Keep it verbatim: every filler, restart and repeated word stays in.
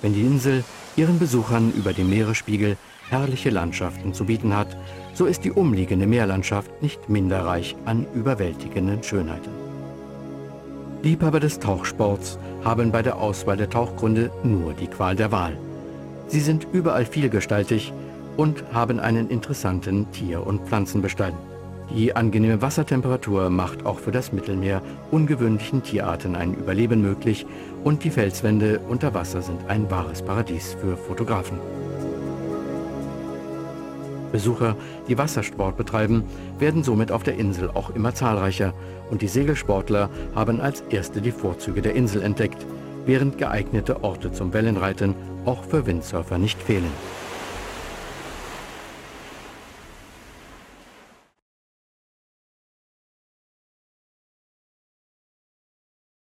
Wenn die Insel ihren Besuchern über dem Meeresspiegel herrliche Landschaften zu bieten hat, so ist die umliegende Meerlandschaft nicht minder reich an überwältigenden Schönheiten. Liebhaber des Tauchsports haben bei der Auswahl der Tauchgründe nur die Qual der Wahl. Sie sind überall vielgestaltig und haben einen interessanten Tier- und Pflanzenbestand. Die angenehme Wassertemperatur macht auch für das Mittelmeer ungewöhnlichen Tierarten ein Überleben möglich und die Felswände unter Wasser sind ein wahres Paradies für Fotografen. Besucher, die Wassersport betreiben, werden somit auf der Insel auch immer zahlreicher und die Segelsportler haben als erste die Vorzüge der Insel entdeckt, während geeignete Orte zum Wellenreiten auch für Windsurfer nicht fehlen.